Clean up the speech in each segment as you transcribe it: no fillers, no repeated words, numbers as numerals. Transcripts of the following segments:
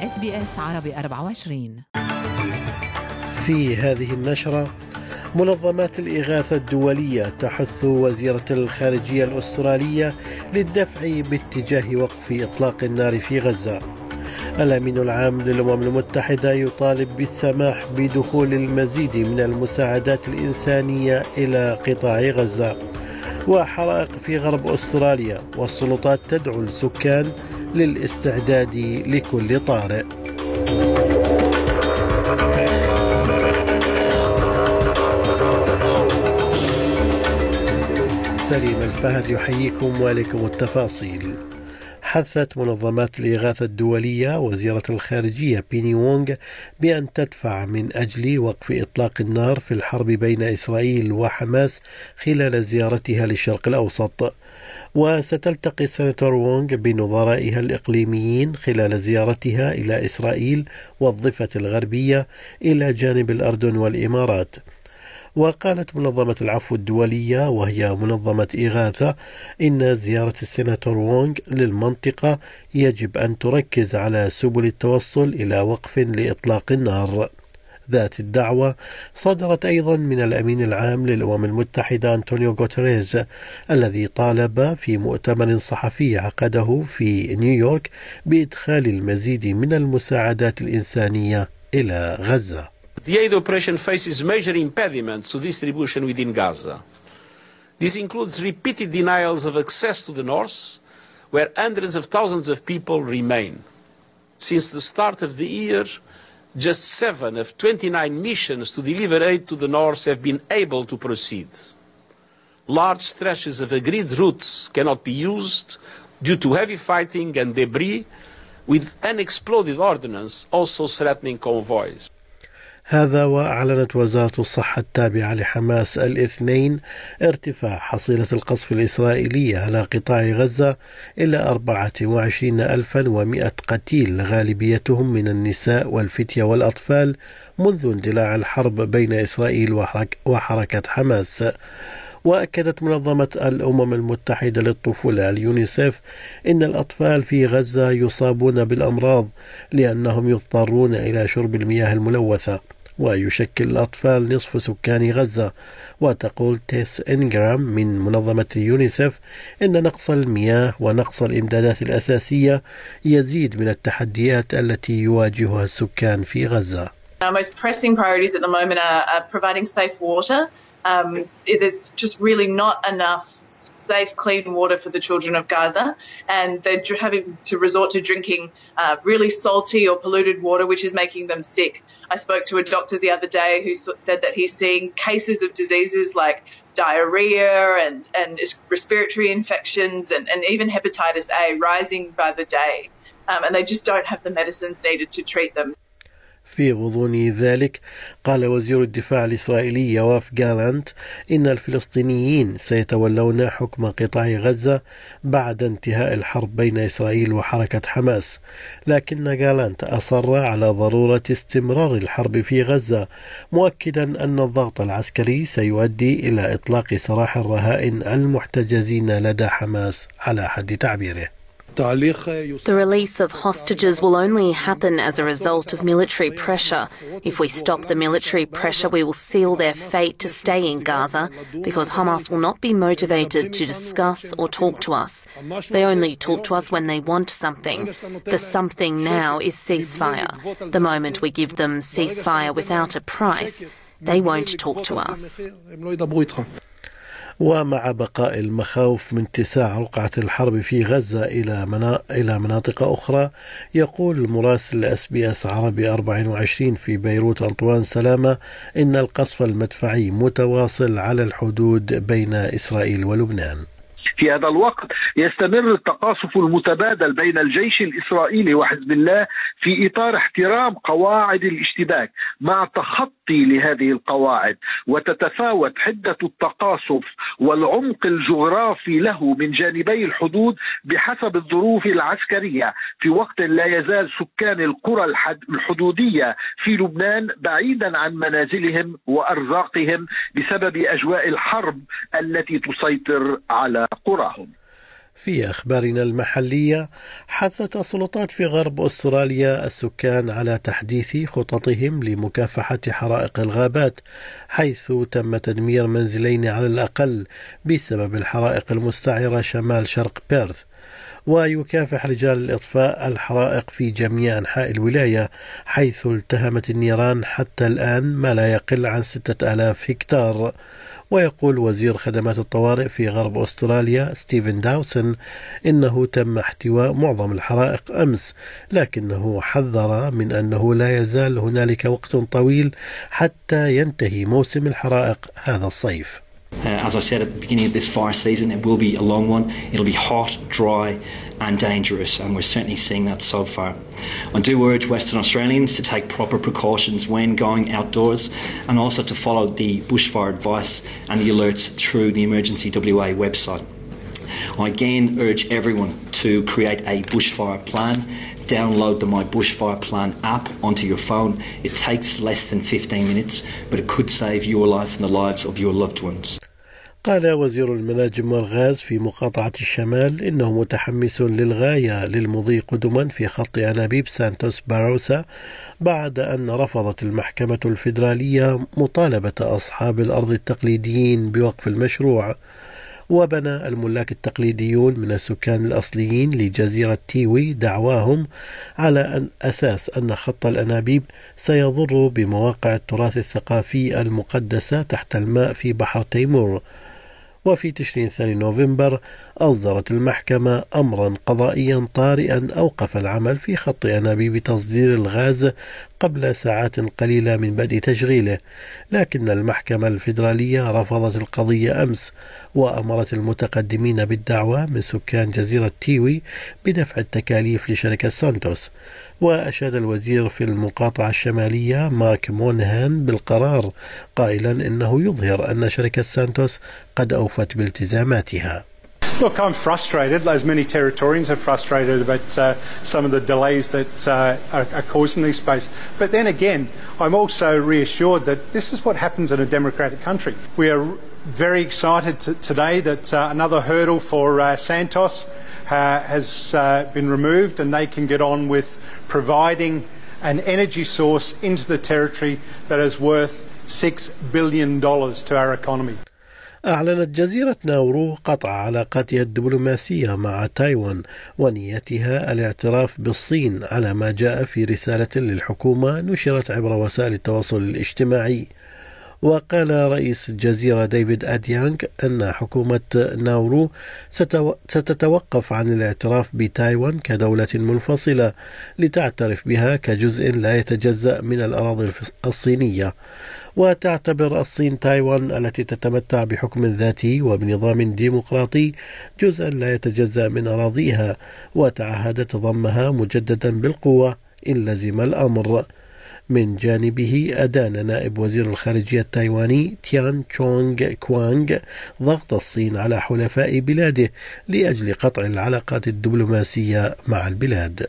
SBS عربي 24. في هذه النشرة: منظمات الإغاثة الدولية تحث وزيرة الخارجية الأسترالية للدفع باتجاه وقف إطلاق النار في غزة. الأمين العام للأمم المتحدة يطالب بالسماح بدخول المزيد من المساعدات الإنسانية إلى قطاع غزة. وحرائق في غرب أستراليا، والسلطات تدعو السكان للاستعداد لكل طارئ. سليم الفهد يحييكم وإليكم التفاصيل. حثت منظمات الإغاثة الدولية وزيرة الخارجية بيني وونغ بأن تدفع من أجل وقف إطلاق النار في الحرب بين إسرائيل وحماس خلال زيارتها للشرق الأوسط. وستلتقي السناتور وونغ بنظرائها الإقليميين خلال زيارتها إلى إسرائيل والضفة الغربية إلى جانب الأردن والإمارات. وقالت منظمة العفو الدولية، وهي منظمة إغاثة، إن زيارة السناتور وونغ للمنطقة يجب أن تركز على سبل التوصل إلى وقف لإطلاق النار. ذات الدعوة صدرت أيضا من الأمين العام للأمم المتحدة أنطونيو غوتيريز، الذي طالب في مؤتمر صحفي عقده في نيويورك بإدخال المزيد من المساعدات الإنسانية إلى غزة. The aid operation faces major impediments to distribution within Gaza. This includes repeated denials of access to the north, where hundreds of thousands of people remain. Since the start of the year, just 7 of 29 missions to deliver aid to the north have been able to proceed. Large stretches of agreed routes cannot be used due to heavy fighting and debris, with unexploded ordnance also threatening convoys. هذا وأعلنت وزارة الصحة التابعة لحماس الاثنين ارتفاع حصيلة القصف الإسرائيلية على قطاع غزة إلى 24,100 قتيل، غالبيتهم من النساء والفتية والأطفال، منذ اندلاع الحرب بين إسرائيل وحركة حماس. وأكدت منظمة الأمم المتحدة للطفولة اليونيسيف إن الأطفال في غزة يصابون بالأمراض لأنهم يضطرون إلى شرب المياه الملوثة، ويشكل الأطفال نصف سكان غزة. وتقول تيس إنغرام من منظمة اليونيسيف إن نقص المياه ونقص الإمدادات الأساسية يزيد من التحديات التي يواجهها السكان في غزة. Our most pressing priorities at the moment are providing safe water. There's just really not enough safe, clean water for the children of Gaza, and they're having to resort to drinking really salty or polluted water, which is making them sick. I spoke to a doctor the other day who said that he's seeing cases of diseases like diarrhea and respiratory infections and even hepatitis A rising by the day, and they just don't have the medicines needed to treat them. في غضون ذلك، قال وزير الدفاع الإسرائيلي يواف جالانت إن الفلسطينيين سيتولون حكم قطاع غزة بعد انتهاء الحرب بين إسرائيل وحركة حماس. لكن جالانت أصر على ضرورة استمرار الحرب في غزة، مؤكدا أن الضغط العسكري سيؤدي إلى إطلاق سراح الرهائن المحتجزين لدى حماس على حد تعبيره. The release of hostages will only happen as a result of military pressure. If we stop the military pressure, we will seal their fate to stay in Gaza, because Hamas will not be motivated to discuss or talk to us. They only talk to us when they want something. The something now is ceasefire. The moment we give them ceasefire without a price, they won't talk to us. ومع بقاء المخاوف من اتساع رقعة الحرب في غزة إلى مناطق أخرى، يقول المراسل SBS عربي 24 في بيروت أنطوان سلامة إن القصف المدفعي متواصل على الحدود بين إسرائيل ولبنان. في هذا الوقت يستمر التقاصف المتبادل بين الجيش الإسرائيلي وحزب الله في إطار احترام قواعد الاشتباك مع تخطي لهذه القواعد، وتتفاوت حدة التقاصف والعمق الجغرافي له من جانبي الحدود بحسب الظروف العسكرية، في وقت لا يزال سكان القرى الحدودية في لبنان بعيدا عن منازلهم وأرزاقهم بسبب أجواء الحرب التي تسيطر على قراهم. في أخبارنا المحلية، حثت السلطات في غرب أستراليا السكان على تحديث خططهم لمكافحة حرائق الغابات، حيث تم تدمير منزلين على الأقل بسبب الحرائق المستعرة شمال شرق بيرث. ويكافح رجال الإطفاء الحرائق في جميع أنحاء الولاية، حيث التهمت النيران حتى الآن ما لا يقل عن 6000 هكتار. ويقول وزير خدمات الطوارئ في غرب أستراليا ستيفن داوسن إنه تم احتواء معظم الحرائق أمس، لكنه حذر من أنه لا يزال هنالك وقت طويل حتى ينتهي موسم الحرائق هذا الصيف. As I said at the beginning of this fire season, it will be a long one. It'll be hot, dry and dangerous, and we're certainly seeing that so far. I do urge Western Australians to take proper precautions when going outdoors, and also to follow the bushfire advice and the alerts through the Emergency WA website. I again urge everyone to create a bushfire plan. Download the My Bushfire Plan app onto your phone. It takes less than 15 minutes, but it could save your life and the lives of your loved ones. قال وزير المناجم والغاز في مقاطعة الشمال إنه متحمس للغاية للمضي قدما في خط أنابيب سانتوس باروسا، بعد أن رفضت المحكمة الفيدرالية مطالبة أصحاب الأرض التقليديين بوقف المشروع. وبنى الملاك التقليديون من السكان الأصليين لجزيرة تيوي دعواهم على أساس أن خط الأنابيب سيضر بمواقع التراث الثقافي المقدسة تحت الماء في بحر تيمور. وفي تشرين الثاني نوفمبر أصدرت المحكمة أمرا قضائيا طارئا أوقف العمل في خط أنابيب تصدير الغاز قبل ساعات قليلة من بدء تشغيله، لكن المحكمة الفيدرالية رفضت القضية أمس، وأمرت المتقدمين بالدعوة من سكان جزيرة تيوي بدفع التكاليف لشركة سانتوس. وأشاد الوزير في المقاطعة الشمالية مارك مونهان بالقرار، قائلا إنه يظهر أن شركة سانتوس قد أوفت بالتزاماتها. Look, I'm frustrated, as many Territorians are frustrated about some of the delays that are caused in this space. But then again, I'm also reassured that this is what happens in a democratic country. We are very excited today that another hurdle for Santos has been removed, and they can get on with providing an energy source into the territory that is worth $6 billion to our economy. أعلنت جزيرة ناورو قطع علاقاتها الدبلوماسية مع تايوان ونيتها الاعتراف بالصين، على ما جاء في رسالة للحكومة نشرت عبر وسائل التواصل الاجتماعي. وقال رئيس الجزيرة ديفيد أديانغ أن حكومة ناورو ستتوقف عن الاعتراف بتايوان كدولة منفصلة لتعترف بها كجزء لا يتجزأ من الأراضي الصينية. وتعتبر الصين تايوان التي تتمتع بحكم ذاتي وبنظام ديمقراطي جزءا لا يتجزأ من أراضيها، وتعهدت ضمها مجددا بالقوة إن لزم الأمر. من جانبه أدان نائب وزير الخارجية التايواني تيان تشونغ كوانغ ضغط الصين على حلفاء بلاده لأجل قطع العلاقات الدبلوماسية مع البلاد.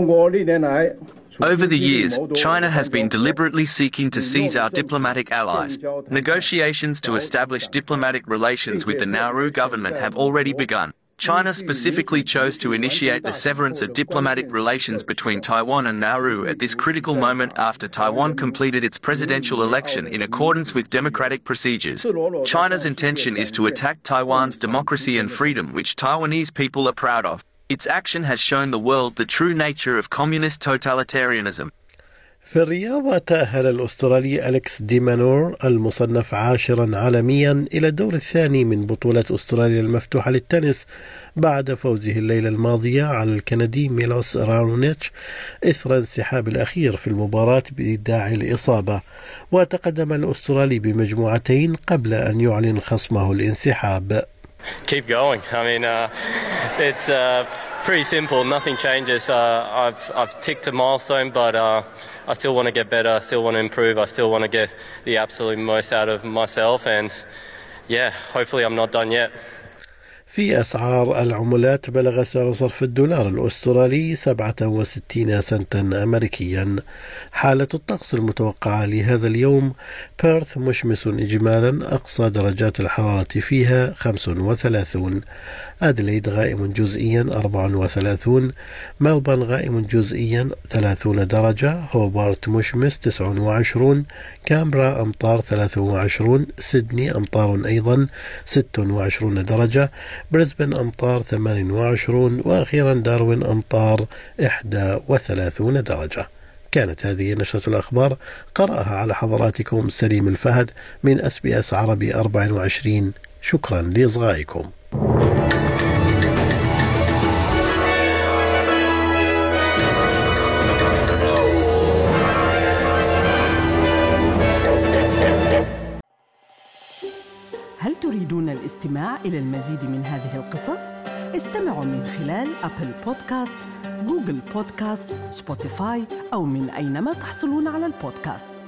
Over the years, China has been deliberately seeking to seize our diplomatic allies. Negotiations to establish diplomatic relations with the Nauru government have already begun. China specifically chose to initiate the severance of diplomatic relations between Taiwan and Nauru at this critical moment after Taiwan completed its presidential election in accordance with democratic procedures. China's intention is to attack Taiwan's democracy and freedom, which Taiwanese people are proud of. Its action has shown the world the true nature of communist totalitarianism. في الرياضة، تأهل الأسترالي أليكس دي مانور المصنف 10 عالميا إلى الدور الثاني من بطولة أستراليا المفتوحة للتنس بعد فوزه الليلة الماضية على الكندي ميلوس رانونيتش إثر انسحاب الأخير في المباراة بداعي الإصابة. وتقدم الأسترالي بمجموعتين قبل أن يعلن خصمه الانسحاب. Keep going. I mean, it's pretty simple. Nothing changes. I've ticked a milestone, but I still want to get better. I still want to improve. I still want to get the absolute most out of myself. And yeah, hopefully I'm not done yet. في أسعار العملات بلغ سعر صرف الدولار الأسترالي 67 سنتا أمريكيا. حالة الطقس المتوقعة لهذا اليوم: بيرث مشمس إجمالا، أقصى درجات الحرارة فيها 35. أدليد غائم جزئيا 34. ملبورن غائم جزئيا 30 درجة. هوبارت مشمس 29. كامبرا أمطار 23. سيدني أمطار أيضا 26 درجة. بريسبن أمطار 28. وأخيرا داروين أمطار 31 درجة. كانت هذه نشرة الأخبار، قرأها على حضراتكم سليم الفهد من SBS عربي 24. شكرا لإصغائكم. هل تريدون الاستماع إلى المزيد من هذه القصص؟ استمعوا من خلال أبل بودكاست، جوجل بودكاست، سبوتيفاي أو من أينما تحصلون على البودكاست.